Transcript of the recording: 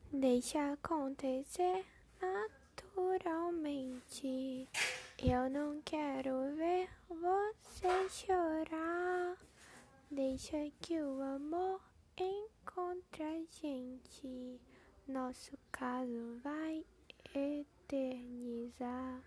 Deixa acontecer naturalmente. Eu não quero ver você chorar. Deixa que o amor encontre a gente. Nosso caso vai eternizar.